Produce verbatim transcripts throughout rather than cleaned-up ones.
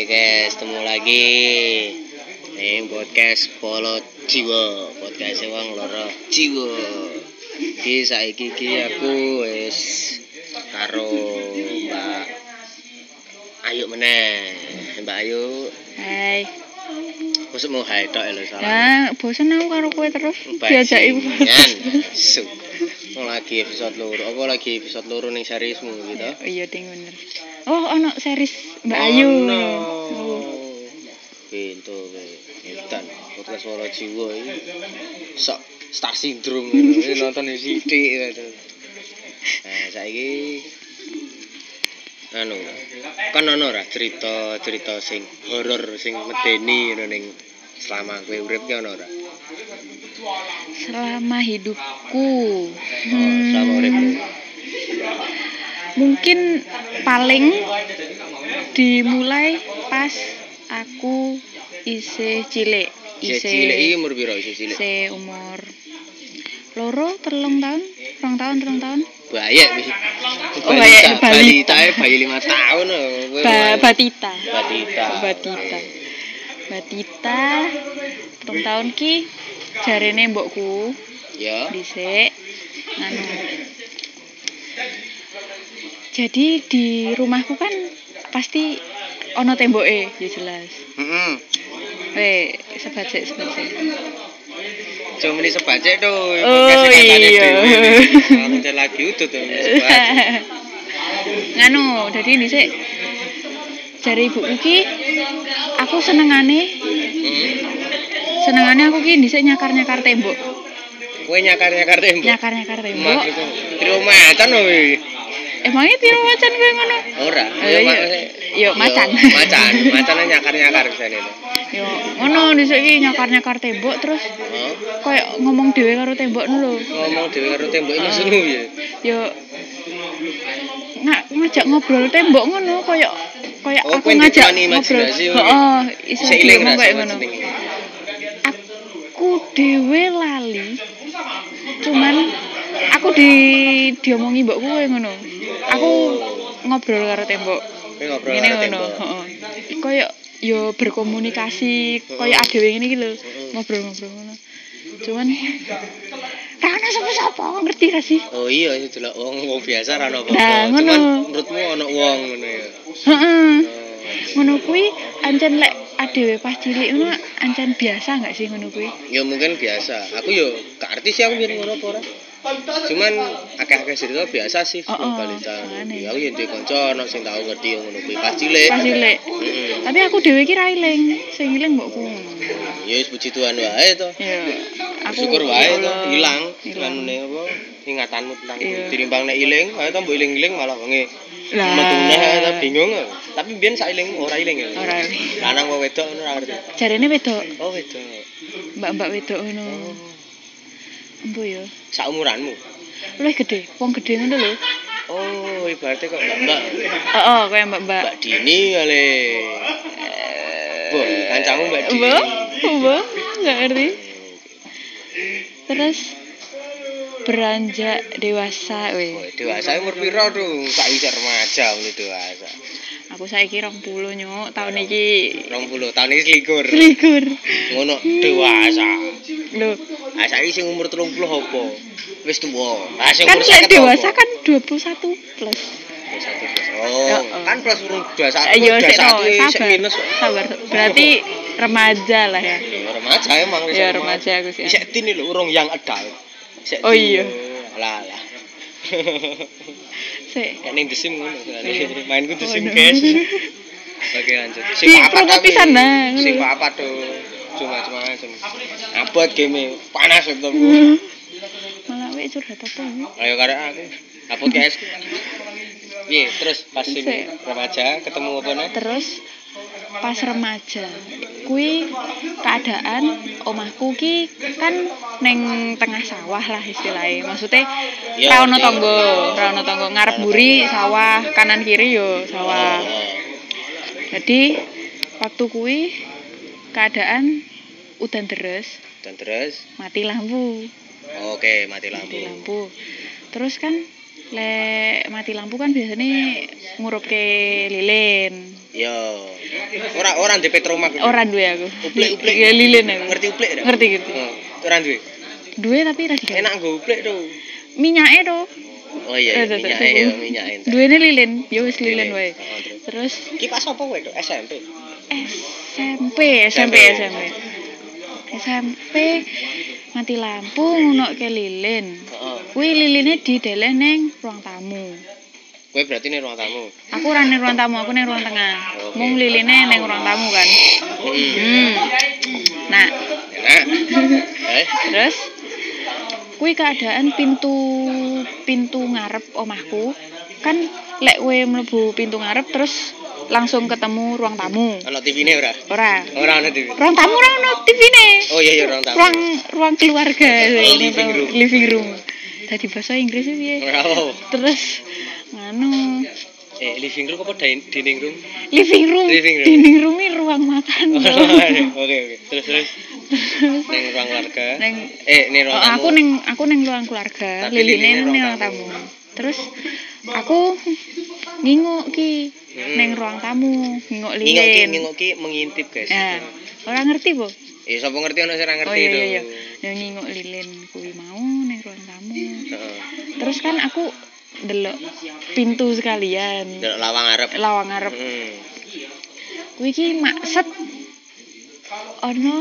guys, ketemu lagi ning podcast Polo Jiwa, podcast wong loro jiwa. Iki saiki iki aku wis karo Mbak Ayu meneh. Mbak Ayu. Hai. Mosok mau hai tok lho salah. Nah, bosen aku karo kowe terus diajaki. Su. Mau lagi episode loro. Apa lagi episode loro ning seriesmu gitu? Iya, ding bener. Oh, ono series Mbak oh, Ayu. No. Oh. Pintu kowe. Edan podcast Polo Jiwa iki. Sok star syndrome ngono. Nonton sithik gitu. Nah, saiki anu kan ono ora cerita-cerita sing horor sing medeni ngono ning selama kowe urip ki ono ora? Selama hidupku. Hmm. Oh, selama uripmu. Mungkin paling dimulai pas aku isih cilik. Isih cilik iki umur piro isih cilik? Isih umur loro, telung tahun, rong tahun, rong tahun. Bayek wis. Oh, bayek balita, bayi lima tahun kowe. Ba batita. Batita. Batita. Batita. Rong tahun ki jarene mbokku. Ya. Dhisik. Anu. Jadi di rumahku kan pasti ono temboke, ya jelas. Heeh. Weh, sebajek sebajek. Cuma ini sebajek tuh. Oh iya. Nanti lagi udut tuh sebajek. Nganu, jadi dhisik jare ibuku ki aku senengane. Hmm. Senengane aku ki dhisik nyakar-nyakar tembok. Kowe nyakar-nyakar tembok. Nyakar-nyakar tembok. Tiro macan kowe. Emangnya tiro macan kowe ngono? Ora, yo yo macan. Macan, macane nyakar-nyakar bisane. Yo ngono dhisik iki nyakar-nyakar tembok terus Heeh. Kayak ngomong dhewe karo tembok lho. Ngomong dhewe karo tembok iki maksudmu ya? Yo nggak ngajak ngobrol tembok ngono koyo koyo oh, aku ngajak ngobrol. Heeh, iso ngomong koyo ngono. Aku dhewe lali. Cuman aku di diomongi mbokku koyo ngono. Aku ngobrol karo tembok. Ngobrol ngene karo ngono, tembok. heeh. Koyo yo berkomunikasi koyo adewe ngene iki lho. Ngobrol-ngobrol ngono. Cuman ra ono sapa-sapa, ngerti ra sih? Oh iya, itu delok wong wong biasa ra ono apa-apa. Nah, ngono. Cuman menurutmu ono wong ngono ya. Heeh. Oh. Ngono kuwi ancen lek adewe pas cilik ngono ancen biasa enggak sih ngono kuwi? Ya mungkin biasa. Aku yo gak arti sih aku biyen ngono apa ora. Cuman akeh-akeh cerita biasa sih Oh, oh, balita. makane. Ya aku yo duwe kanca ono sing tau ngerti ngono kuwi pas cilik. Pas cilik. Heeh. Tapi aku dhewe iki ra eling, sing eling mbokku. Ya wis puji Tuhan wae to. Ya, aku Syukur wae to ya Allah, ilang ilang. anune apa ingatanmu tentang Iya. tinimbang nek iling, ayo to mbok iling-iling malah wengi Lah. metu neh ta bingung. Tapi biyen sak eling ora iling ya. Ora eling. Lanang apa wedok ngono ora ngerti. Jarene wedok, Oh wedok. mbak-mbak wedok ngono. Empo yo. Sak umuranmu. Luwih gede, wong gede ngono lho. Oh, ibaratnya kok Mbak Heeh, koyo mbak-mbak. Mbak Dini kali. Bu, kancamu Mbak Dini. Mbok, mbok, enggak ngerti. Terus beranjak dewasa Oh, weh. dewasa umur piro tuh? Sak isih remaja ini dewasa. Aku saiki rong puluh nyuk, tahun iki dua puluh tahun iki selikur. selikur. Ngono dewasa. Lho, Ah saiki sing umur tiga puluh apa? Wis tuwa. Ah sing kan umur lek seket dewasa apa? kan dua puluh satu plus. dua puluh satu plus. Oh, Ya, kan plus urung dua puluh satu. Ayo dua sik puluh satu to, sik sabar. minus. Sabar. Berarti remaja lah ya. Ya, remaja emang wis. Ya remaja aku sih. Sik tini lho urung yang adult. Sik Oh, tini. iya. Lah lah. Sik. Kayak ning The Sims ngono. Iya. Mainku The Oh, Sims, no. guys. Oke lanjut. Di promo pisan nah, ngono. Sing apa tuh? Cuma-cuma macam. Abot game panas laptop. Malah wek curhat apa ini? Ayo karek aku. Abot guys. Piye, terus pas sing Sik. remaja ketemu apa nih? Terus pas remaja kui keadaan omahku ki kan neng tengah sawah lah istilahnya maksudnya Ya, ra ono ya. tangga ra ono tangga ngarep buri sawah kanan kiri yo sawah jadi waktu kui keadaan udan deres Dan terus mati lampu oke mati lampu. mati lampu terus kan lek mati lampu kan biasanya ngurupke lilin. Yo. Ora ora ndek petroma. Ora duwe aku. Uplek-uplek. Ya lilin aku. Ngerti uplek ora? Ngerti ngerti. Oh, ora duwe. Duwe tapi ra digawe. Enak nggo uplek to. Minyake to. Oh iya, iya minyake ya, minyake. Duwene lilin, ya wis lilin wae. Oh, terus. Terus Ki pas apa kowe, S M P? S M P, S M P, S M P. S M P mati lampu ngono ke lilin. Heeh. Kuwi liline dideleh ning ruang tamu. Kowe berarti ning ruang tamu. Aku ora ning ruang tamu, aku ning ruang tengah. Oke. Mung liline ning ruang tamu kan. Heeh. Hmm. Nah, Enak. Eh, terus kuwi keadaan pintu pintu ngarep omahku kan lek kowe mlebu pintu ngarep terus langsung ketemu ruang tamu. ana T V-ne ora? Ora. Ora ana T V. Ruang tamu ora ono T V-ne. Oh iya iya ruang tamu. Ruang ruang keluarga. Living room. Living room. Tadi bahasa Inggris piye? Ora apa. Terus nganu Eh, living room apa din- dining room? living room. Living room. Dining room ini ruang makan. Oke oke. Terus terus ning ruang keluarga. Neng Eh, ning ruang Oh, tamu. aku neng aku neng ruang keluarga, Tapi liline liline neng ruang ruang tamu. tamu. Terus aku nginguk ki Hmm. neng ruang tamu, nginguk Ngingok ki lilin. ngingok ki mengintip, guys. Nah, ora ngerti po? Eh, sapa ngerti ana sing ora ngerti Oh iya to. iya iya. Yang nginguk lilin kuwi mau neng ruang tamu. Heeh. Terus kan aku delok pintu sekalian. Delok lawang arep. Lawang ngarep. Heeh. Kuwi ki makset ono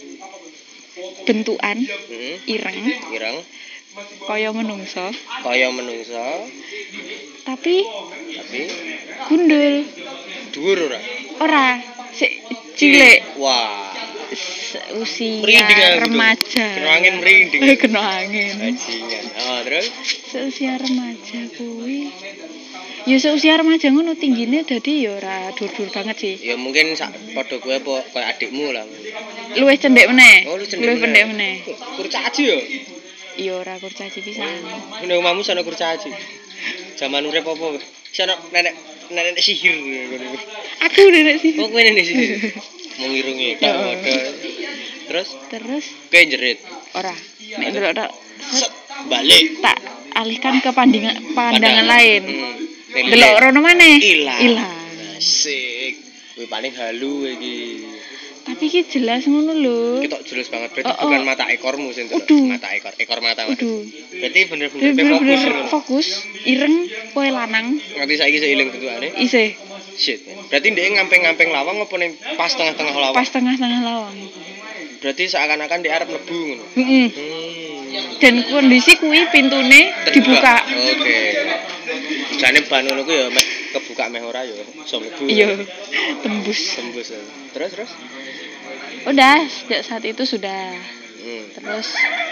bentukan Heeh. ireng Ireng kaya menungso, kaya menungso, tapi tapi gundul. dhuwur ora? Ora, sik cilik, Wah. se- usia Merinding aku tuh. remaja. Kena angin merinding. Kena angin. Bajingan. Oh, terus Seusia remaja kuwi. Ya seusia remaja ngono tinggine dadi ya ora dur-dur banget sih. ya mungkin sak padha kowe apa koyo adikmu lah. Luwih cendhek meneh. Oh, lu cendhek Luwih pendek meneh. Kurcaci ya? Ya ora kurcaci pisan. Nek omahmu sono kurcaci. Zaman urip apa? Sono nenek nenek sihir ngono. Aku nenek sih. Oh, kowe nenek sihir. Mengirungi tak Heeh. modal. Terus Terus kowe jerit. ora nek ndelok tok Set balik. tak alihkan ke pandangan pandangan lain. Hmm. Delok rono maneh. Ilang. Ilang. Asik. Kuwi paling halu iki. Tapi ki jelas ngono lho. Ketok jelas banget. Berarti Oh, oh. bukan mata ekormu sing delok. Uduh. Mata ekor, ekor mata. Mas. Uduh. Berarti bener-bener Dia kowe fokus. bener-bener ngono. fokus, ireng, kowe lanang, Nganti saiki isih eling bentukane. isih Shit. Berarti ndek ngamping-ngamping lawang apa ning pas tengah-tengah lawang? pas tengah-tengah lawang. Berarti seakan-akan di arep mlebu ngono. Heeh. Hmm. Dan kondisi kuwi pintune dibuka. Oke. Jane ban ngono ku ya meh kebuka meh ora ya iso mlebu. Iya, tembus. Tembus. ya. Terus terus. Udah, sejak saat itu sudah. Hmm. Terus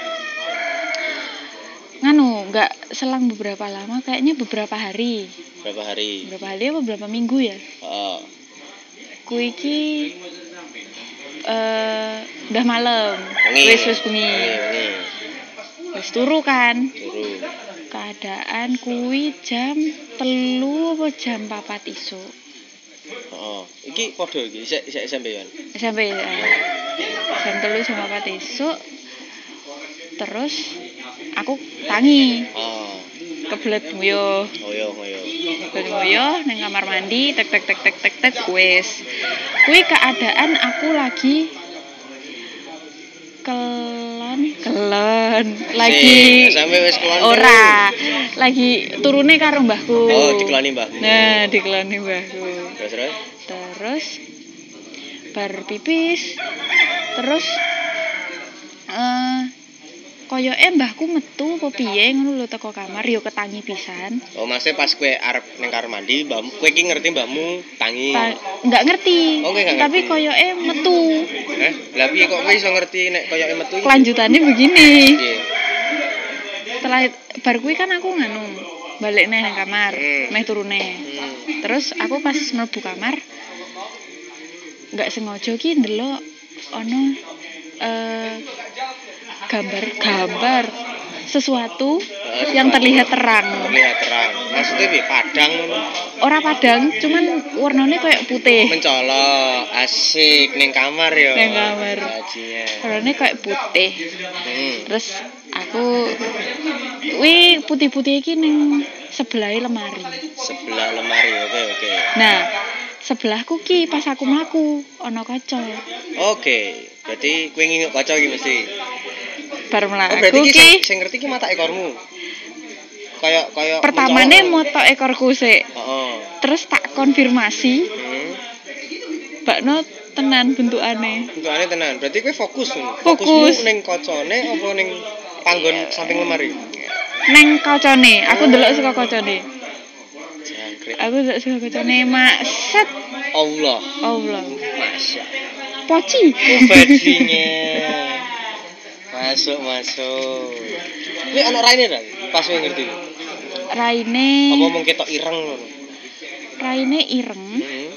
nganu, nggak selang beberapa lama, kayaknya beberapa hari. Berapa hari? Beberapa hari apa beberapa minggu ya? Heeh. Kuwi ki eh udah malam. Wengi. Wis wis bengi. Wengi. Wis turu kan. Turu. Keadaan kuwi jam telu apa jam papat iso. Heeh. Iki padha iki isih isih sampeyan. Sampai eh, jam telu jam papat iso. Terus aku tangi, Oh. kebelet nguyuh. Ngoyo ngoyo. Kebelet nguyuh nang kamar mandi, tek tek tek tek tek tek wis. Kuwi keadaan aku lagi kelon, kelon. Lagi sampai wis kelon. ora, lagi turune karo mbahku. Oh, dikeloni mbahmu. Nah, dikeloni mbahku. Terus terus. Terus bar pipis. Terus eh koyoke mbahku metu apa piye ngono lho teko kamar yo ketangi pisan. Oh, maksudnya pas kowe arep ning kamar mandi, mbahmu kowe iki ngerti mbahmu tangi. Ta- Nggak ngerti. Oh, kowe nggak Tapi ngerti. koyoke metu. Eh, lah piye kok kowe iso ngerti nek koyoke metu iki? Kelanjutannya begini. Piye? Setelah bar kuwi kan aku nganu balik neh nang kamar, Hmm. meh turune. Hmm. Terus aku pas mlebu kamar nggak sengaja ki ndelok ono eh gambar gambar sesuatu yang terlihat terang. Terlihat terang. Maksudnya piye? Padang ngono. Ora padang, cuman warnanya kayak putih. Mencolok, asik ning kamar ya. Ning kamar. Bajingan. Warnanya kayak putih. Hmm. Terus aku wih putih-putih iki ning sebelah lemari. Sebelah lemari. Oke, oke. Nah, sebelahku ki pas aku mlaku ana kaca. Oke. Berarti kowe nginguk kaca iki mesti. Bar Oh, mlaku berarti ki ki sing, sing ngerti ki mata ekormu. Kayak kayak pertamane moto ekorku sik. Heeh. Terus tak konfirmasi. Hmm. Bakno tenan bentukane. Bentukane tenan. Berarti kowe fokus. Fokus. Fokusmu ning kacane apa ning panggon samping lemari? Neng kacane, aku ndelok saka kacane. Jangkrik. Aku ndelok saka kacane maset. Allah. Allah. Masya. Poci. Oh, bajinnya. Masuk, masuk. Kuwi ana raine ta? Pas kowe ngerti. Raine. Apa mung ketok ireng ngono? Raine ireng, Heeh.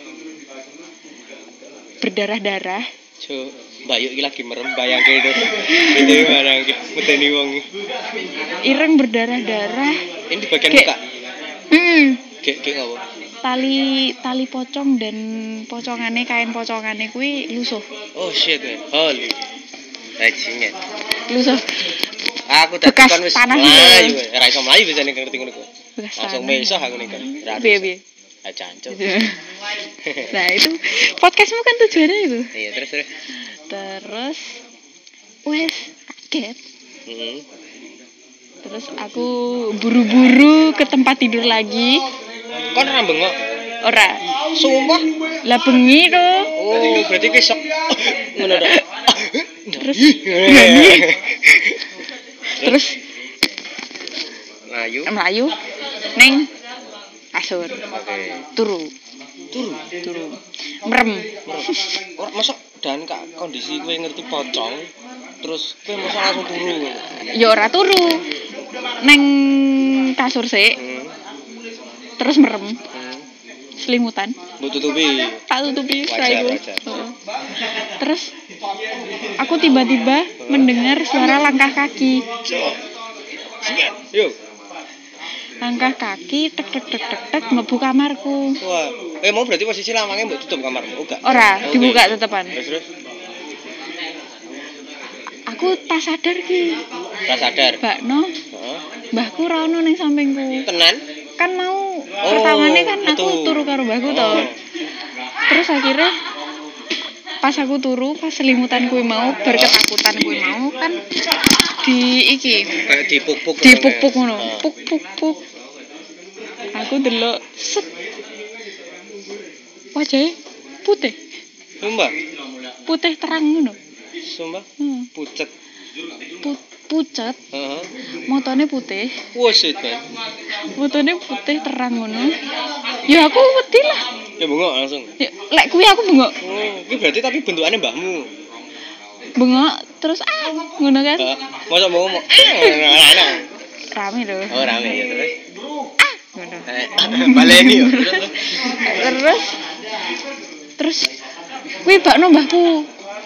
berdarah-darah. Jo, Bayu iki lagi merem bayangke itu. Itu gimana iki? Medeni wong iki. Ireng berdarah-darah. Ini di bagian Kayak- muka. Hmm. Gek gek ngopo? Tali tali pocong dan pocongane kain pocongane kuwi lusuh. Oh shit, man. Holy. Bajingan. Lusuh. Aku dadi Bekas kon wis tanah mlayu. gitu. Ora iso mlayu bisa ning ngerti ngono ku. Bekas Langsung tanah. mesah aku ning kon. Ora Piye iso. piye. Ah jancuk. Nah, itu podcastmu kan tujuannya itu. Iya, terus terus. Terus wes kaget. Heeh. Terus aku buru-buru ke tempat tidur lagi. Kon ora bengok. Ora. Sumpah. Lah bengi to. Oh, berarti kowe sok ngono to. Terus Berani. terus Melayu. melayu ning kasur. Oke. Turu, Turu. turu. Merem. Ora mosok dan kak kondisi kowe ngerti pocong terus kowe mosok langsung turu. Ya ora turu. Neng kasur sik, Hmm. terus merem. Hmm. Selimutan. Mbok tutupi. Tak tutupi Wajar, saiku. wajar. Heeh. Terus aku tiba-tiba mendengar suara langkah kaki. Yo. Langkah kaki tek tek tek tek tek mlebu kamarku. Wah. Eh mau berarti posisi lawange mbok tutup kamarmu. Enggak. Ora, Oke. dibuka tetepan. Terus terus. Aku tak sadar ki. Ora sadar. Bakno, Heeh. mbahku ra ono ning sampingku. Tenan? Kan mau pertamane kan aku betul. turu karo mbahku to. Oh. Terus akhirnya pas aku turu, pas selimutan kuwi mau, berketakutan kuwi mau kan di iki, Kayak dipuk-puk. dipuk-puk ngono. Heeh. Puk puk puk. Aku delok set. Wajahnya putih, Sumpah. putih terang ngono. Sumpah. Hmm. Pucet. Pu- pucet, Heeh. motone putih, Wah shit, man. motone putih terang ngono. Ya aku wedi lah. Ya bengok langsung. Ya, lek kuwi aku bengok, Oh, iki berarti tapi bentukannya mbahmu. bengok terus ah ngono kan. Heeh. Mosok mbahmu mau ana. Rame lho. Oh, rame ya terus. Ah ngono. Eh, baleni yo. Terus terus kuwi bakno mbahku.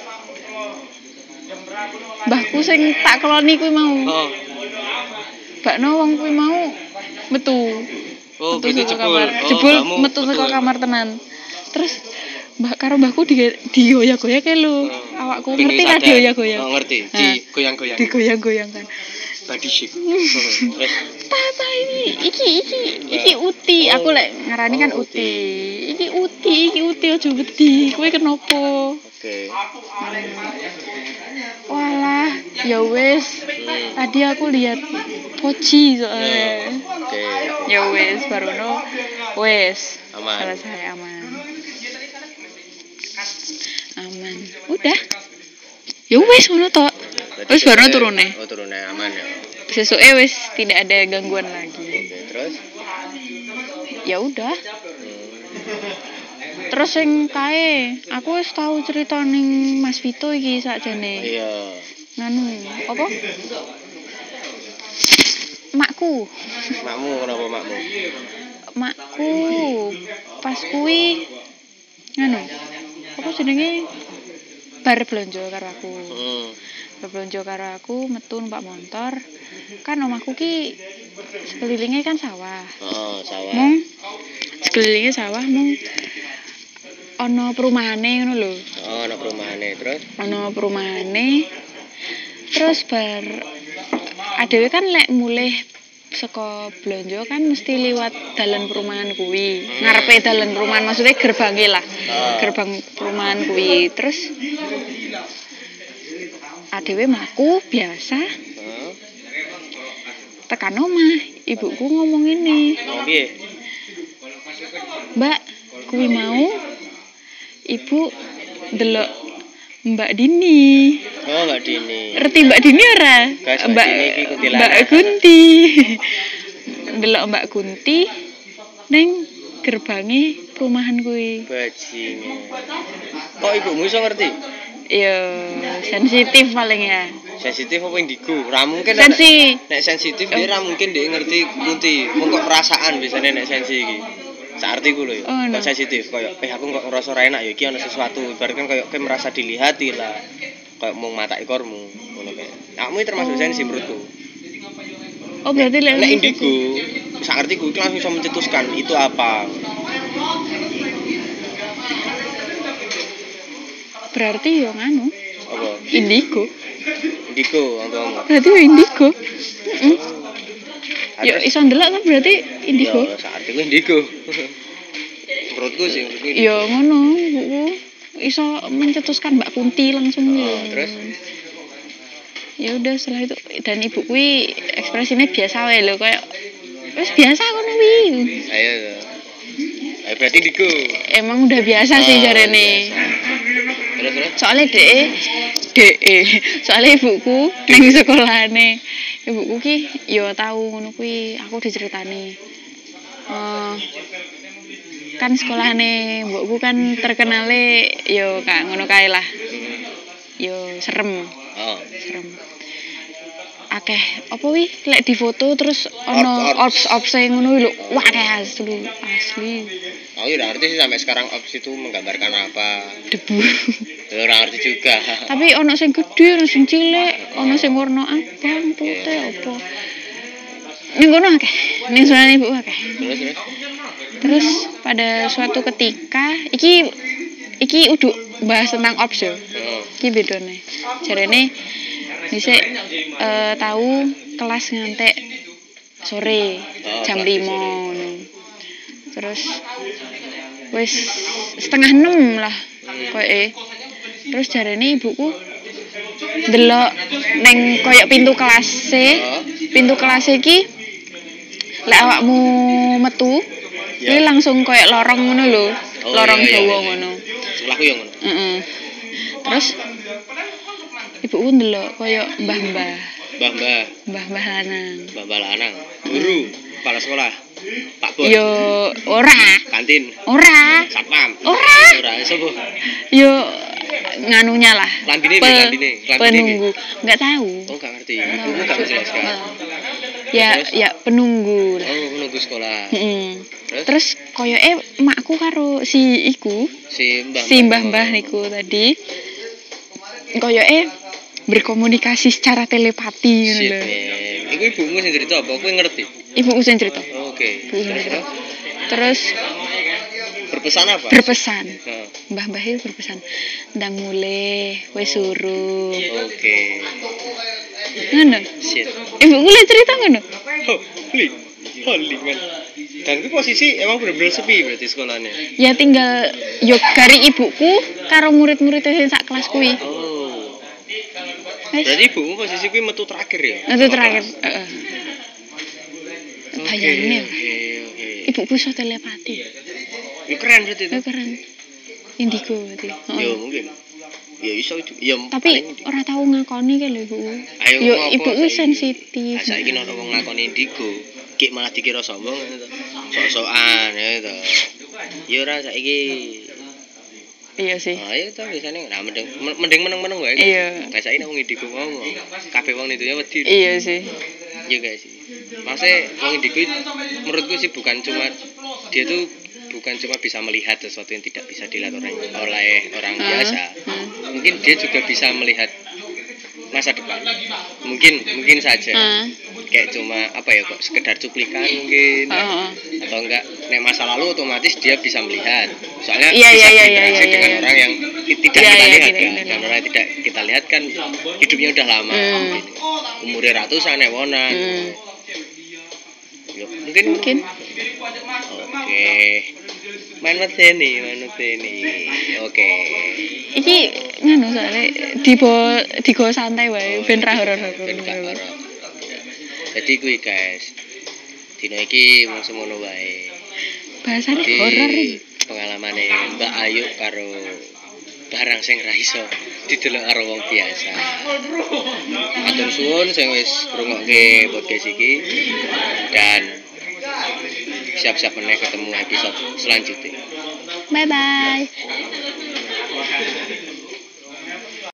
Mbahku sing tak keloni kuwi mau. Oh. Bakno wong kuwi mau metu. Oh, Metu berarti saka jebul. kamar. Oh, Jebul mbahmu metu saka betul. kamar tenan. Terus mbah karo mbahku di digoyak-goyak lho. Oh. Awakku Pengen ngerti lah sadar. digoyak-goyak. Oh, ngerti. Nah, Di goyang-goyang. digoyang-goyang kan. Body shape. Terus Tata ini, iki iki iki uti. Oh. Aku lek ngarani kan Oh, uti. Iki uti, iki uti aja wedi. Kowe kenapa? oke. Walah, ya wis. Hmm. Tadi aku lihat poci soalnya. Oke. Ya wis, baruno wis. Aman. Selesai aman. Aman. Udah. Ya wis ngono tok. Berarti Wis baruno sesuai- turune. Oh, turune aman ya. Sesuke wis tidak ada gangguan lagi. Oke, terus Ya udah. hmm. Terus sing kae, aku wis tau cerita ning Mas Vito iki sakjane. Iya. Nganu, apa? Makku. Makmu kenapa makmu? Makku pas kuwi nganu. Apa jenenge? Bar blonjo karo aku. Hmm. Bar blonjo karo aku metu numpak motor. Kan omahku ki sekelilingnya kan sawah. Oh, sawah. Mung sekelilingnya sawah mung ana perumahane ngono lho. Oh, ana perumahane terus. Ana perumahane. Terus bar adewe kan lek mulih saka blonjo kan mesti liwat dalan perumahan kuwi. Ngarepe dalan perumahan maksudnya gerbangnya lah. Gerbang perumahan kuwi. Terus adewe mlaku biasa. Heeh. Tekan omah, ibuku ngomong ini. Oh, piye? Mbak, kuwi mau ibu delok Mbak Dini. Oh, Mbak Dini. Ngerti Mbak Dini ora? Guys, Mbak Mbak Dini iki kuntilanak. Mbak Kunti. Delok Mbak Kunti ning gerbange perumahan kuwi. Bajingan. Kok ibumu iso ngerti? Ya sensitif paling ya. Sensitif apa indigo? Ra mungkin Sensi. nek sensitif dia ra mungkin dia ngerti kunti. Mung kok perasaan biasanya nek sensi iki. Saartiku lho ya. Oh, no. Kok sensitif koyo eh aku kok ngerasa ra enak ya iki ana sesuatu. Ibarat kan koyo kowe merasa dilihati lah. Kayak mau mata ekormu ngono kae. Kamu termasuk Oh. sensi menurutku. Oh berarti lek Nek indigo, saartiku iki langsung bisa mencetuskan itu apa. Berarti yo nganu, Apa? indigo. Indigo ngomong. Berarti yo indigo. Heeh. Yo iso ndelok kan berarti indigo. Ya, saartiku indigo. Menurutku sih, menurutku indigo. Yo ngono, ibuku iso mencetuskan Mbak Kunti langsung. Oh, terus? Ya udah setelah itu dan ibu kuwi ekspresinya biasa wae lho kayak wis biasa ngono kuwi. Ayo. Ayo berarti indigo. Emang udah biasa sih Oh, jarene. Terus terus. Soalnya dek dek soalnya ibuku ning sekolahane ibuku ki yo tahu ngono kuwi aku diceritani. Eh kan sekolahane mbokku kan terkenale yo kak ngono kae lah. Yo serem. Oh. Serem. Akeh apa wi lek difoto terus ono Orbs, orbs orbs ngono lho wah kayak asli asli Aku udah ngerti sih sampai sekarang ops itu menggambarkan apa. debu. Ya udah ngerti juga. Tapi ono sing gede, ono sing cilik, ono sing warna abang, putih apa. Ning kono akeh. Ning sunane ibu akeh. Terus terus. Terus pada suatu ketika iki iki uduk bahas tentang ops yo. Heeh. Iki bedone. Jarene dhisik eh tahu kelas ngantek sore jam lima ngono. Terus wis setengah enam lah koyoke. Terus jarene ibuku ndelok neng koyo pintu kelas e. Pintu kelas iki lek awakmu metu iki langsung koyo lorong ngono lho. Oh, Lorong iya, iya, Jawa iya. ngono. Sebelahku yang ngono. Heeh. Terus ibuku ndelok koyo mbah-mbah, Mbah-mbah, mbah-mbah lanang. mbah-mbah lanang, guru, kepala sekolah, Pak Bos, Yo ora, kantin, ora, satpam. ora. Ora, sapa? Yo nganunya lah. Klambine, Pe- klambine, klambine. penunggu. Enggak tahu. Oh, gak ngerti. Ibumu gak menjelaskan. Ya, Terus? ya penunggu lah. Oh, menunggu sekolah. Heeh. Terus? Terus koyoke makku karo si iku, Si mbah si mbah-mbah niku tadi koyoke berkomunikasi secara telepati ngono Shit, lho. man. Iku ibumu sing cerita apa? Kowe ngerti? Ibuku sing cerita. Oke. Ibuku sing Terus cerita. terus? Terus Berpesan apa? berpesan. Heeh. Mbah-mbah itu berpesan, "Ndang mulih, wis suruh." Oke. Ngono. Shit. Ibuku le cerita ngono. Holy. Holy man. Dan itu posisi emang bener-bener sepi berarti sekolahnya. Ya tinggal yo gari ibuku karo murid-murid sing sak kelas kuwi. Oh. Wis. Berarti ibumu posisi kuwi metu terakhir ya? Itu terakhir, heeh. Oke, Bayangin. Oke, oke. Ibuku iso telepati. Ya keren berarti itu. Oh, keren. Indigo berarti. Heeh. Ya mungkin. Ya iso juga. Ya Tapi paling- ora tau ngakoni ke lho ibuku. Ayo Yo ngopo ibuku saiki? sensitif. Ah, saiki nek wong ngakoni indigo, ki malah dikira sombong ngono to. Sok-sokan ya to. Ya ora saiki. Iya sih. Ah, ya to biasane nah mending mending meneng-meneng wae. Iya. Kayak saiki nek wong indigo ngomong, kabeh wong itu ya wedi. Iya sih. Iya guys. Maksudnya wong indigo itu menurutku sih bukan cuma dia tuh bukan cuma bisa melihat sesuatu yang tidak bisa dilihat orang oleh orang Hmm. biasa. Hmm. Mungkin dia juga bisa melihat masa depan. Mungkin mungkin saja. Ah. Kayak cuma apa ya kok sekedar cuplikan mungkin. Heeh. Atau enggak nek masa lalu otomatis dia bisa melihat. Soalnya Iya, bisa iya, iya, berinteraksi iya, iya, dengan iya. orang yang ti- tidak Iya, kita iya, lihat tidak kan. kita Dan lihat. orang yang tidak kita lihat kan hidupnya udah lama. Hmm. Mungkin. Umurnya ratusan ewonan. Hmm. Mungkin Mungkin. Oke. Main medeni, main medeni. Oke. Iki nganu soalnya dibo digo santai wae ben ra horor-horor. Ben gak horor. Jadi kuwi guys. Dino iki mung semono wae. Bahasane Di horor iki. Pengalamane Mbak Ayu karo barang sing ra iso didelok karo wong biasa. Matur suwun sing wis ngrungokke podcast iki dan siap-siap meneh ketemu episode selanjutnya. Bye bye.